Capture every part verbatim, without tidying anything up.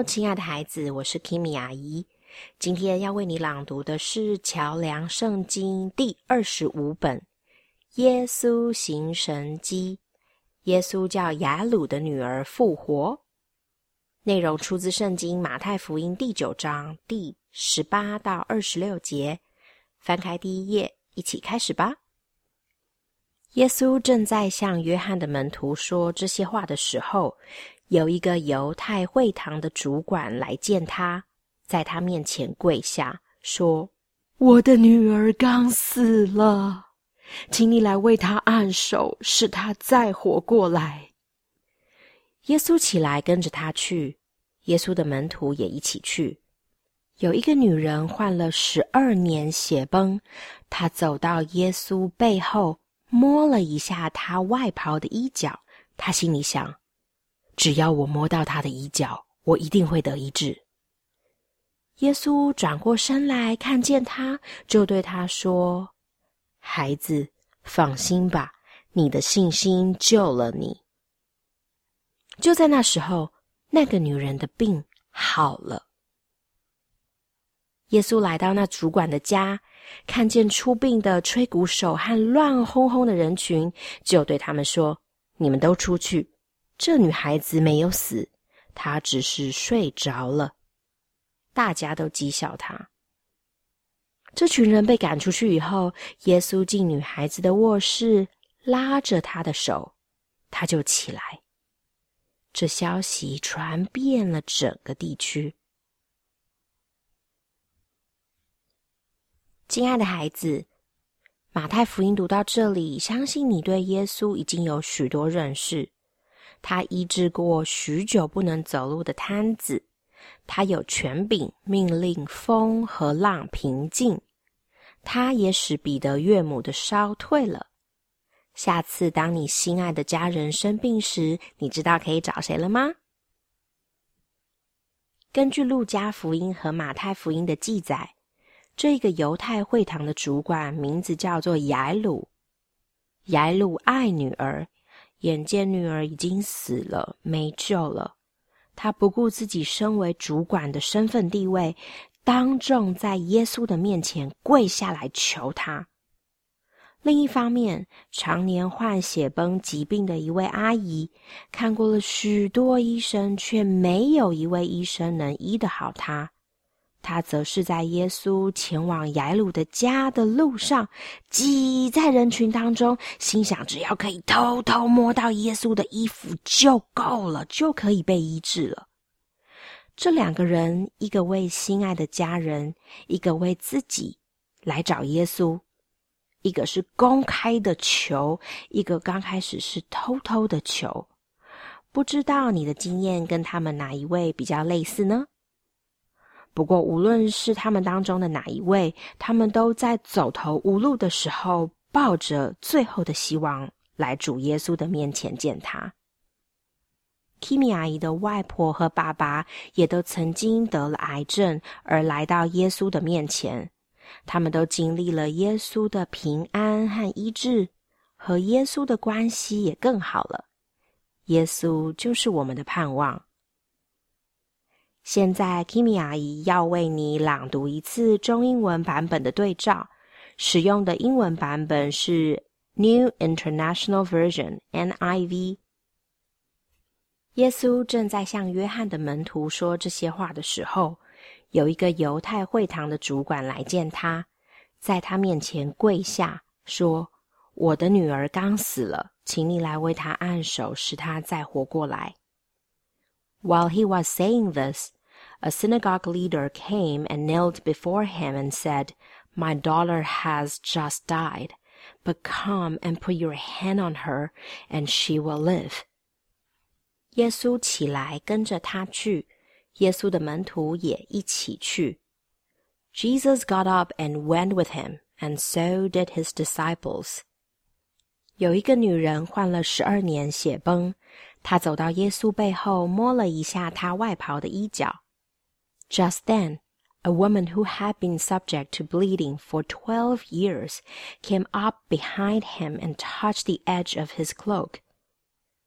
亲爱的孩子，我是 Kimi 阿姨。今天要为你朗读的是桥梁圣经第二十五本，耶稣行神迹。耶稣叫雅鲁的女儿复活。内容出自圣经马太福音第九章第十八到二十六节。翻开第一页，一起开始吧。耶稣正在向约翰的门徒说这些话的时候，有一个犹太会堂的主管来见他，在他面前跪下，说：我的女儿刚死了，请你来为她按手，使她再活过来。耶稣起来跟着他去，耶稣的门徒也一起去。有一个女人患了十二年血崩，她走到耶稣背后，摸了一下他外袍的衣角，她心里想，只要我摸到他的衣角，我一定会得医治。耶稣转过身来看见他，就对他说：孩子，放心吧，你的信心救了你。就在那时候，那个女人的病好了。耶稣来到那主管的家，看见出殡的吹鼓手和乱哄哄的人群，就对他们说：你们都出去，这女孩子没有死，她只是睡着了。大家都讥笑他。这群人被赶出去以后，耶稣进女孩子的卧室，拉着她的手，她就起来。这消息传遍了整个地区。亲爱的孩子，马太福音读到这里，相信你对耶稣已经有许多认识。他医治过许久不能走路的瘫子，他有权柄命令风和浪平静，他也使彼得岳母的烧退了。下次当你心爱的家人生病时，你知道可以找谁了吗？根据路加福音和马太福音的记载，这个犹太会堂的主管名字叫做雅鲁。雅鲁爱女儿，眼见女儿已经死了，没救了，他不顾自己身为主管的身份地位，当众在耶稣的面前跪下来求他。另一方面，常年患血崩疾病的一位阿姨，看过了许多医生，却没有一位医生能医得好她。她则是在耶稣前往雅鲁的家的路上，挤在人群当中，心想只要可以偷偷摸到耶稣的衣服就够了，就可以被医治了。这两个人，一个为心爱的家人，一个为自己来找耶稣，一个是公开的求，一个刚开始是偷偷的求。不知道你的经验跟他们哪一位比较类似呢？不过无论是他们当中的哪一位，他们都在走投无路的时候，抱着最后的希望来主耶稣的面前见他。Kimi 阿姨的外婆和爸爸也都曾经得了癌症，而来到耶稣的面前。他们都经历了耶稣的平安和医治，和耶稣的关系也更好了。耶稣就是我们的盼望。现在 Kimi 阿姨要为你朗读一次中英文版本的对照，使用的英文版本是 New International Version N I V。 耶稣正在向约翰的门徒说这些话的时候，有一个犹太会堂的主管来见他，在他面前跪下，说：我的女儿刚死了，请你来为她按手，使她再活过来。While he was saying this, a synagogue leader came and knelt before him and said, My daughter has just died, but come and put your hand on her, and she will live. 耶稣起来跟着他去，耶稣的门徒也一起去。Jesus got up and went with him, and so did his disciples. 有一个女人患了十二年血崩，她走到耶稣背后，摸了一下他外袍的衣角。Just then, a woman who had been subject to bleeding for twelve years came up behind him and touched the edge of his cloak.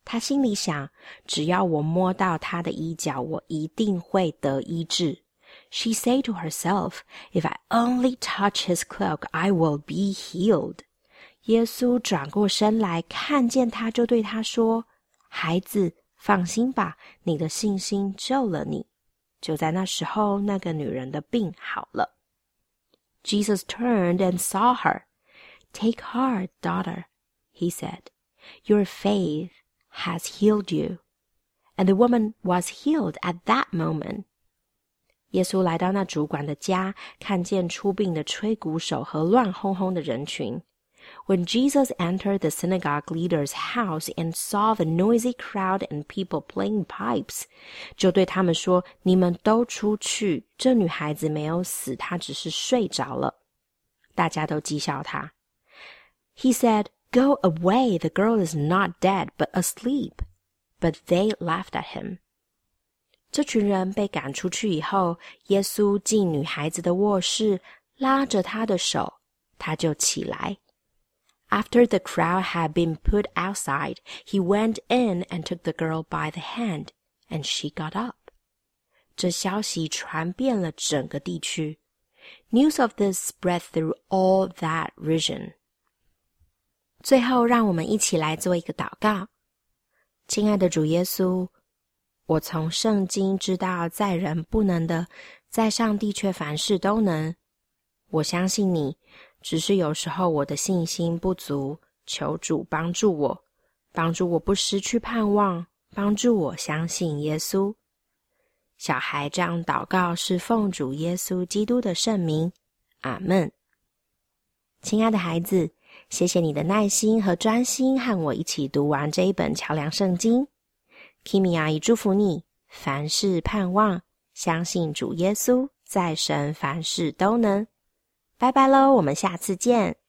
他心里想，只要我摸到他的衣角，我一定会得医治。She said to herself, If I only touch his cloak, I will be healed. 耶稣转过身来，看见他就对他说，孩子，放心吧，你的信心救了你。就在那时候，那个女人的病好了。Jesus turned and saw her. Take heart, daughter, he said. Your faith has healed you. And the woman was healed at that moment. 耶稣来到那主管的家，看见出殡的吹鼓手和乱哄哄的人群。When Jesus entered the synagogue leader's house and saw the noisy crowd and people playing pipes, 就对他们说，你们都出去，这女孩子没有死，她只是睡着了。大家都讥笑他。He said, Go away, the girl is not dead, but asleep. But they laughed at him. 这群人被赶出去以后，耶稣进女孩子的卧室，拉着她的手，她就起来。After the crowd had been put outside, he went in and took the girl by the hand, and she got up. 这消息传遍了整个地区。News of this spread through all that region. 最后，让我们一起来做一个祷告。亲爱的主耶稣，我从圣经知道，在人不能的，在上帝却凡事都能。我相信你，只是有时候我的信心不足，求主帮助我，帮助我不失去盼望，帮助我相信耶稣。小孩这样祷告是奉主耶稣基督的圣名，阿们。亲爱的孩子，谢谢你的耐心和专心，和我一起读完这一本桥梁圣经。Kimi 阿姨祝福你，凡事盼望，相信主耶稣，在神凡事都能。拜拜喽，我们下次见。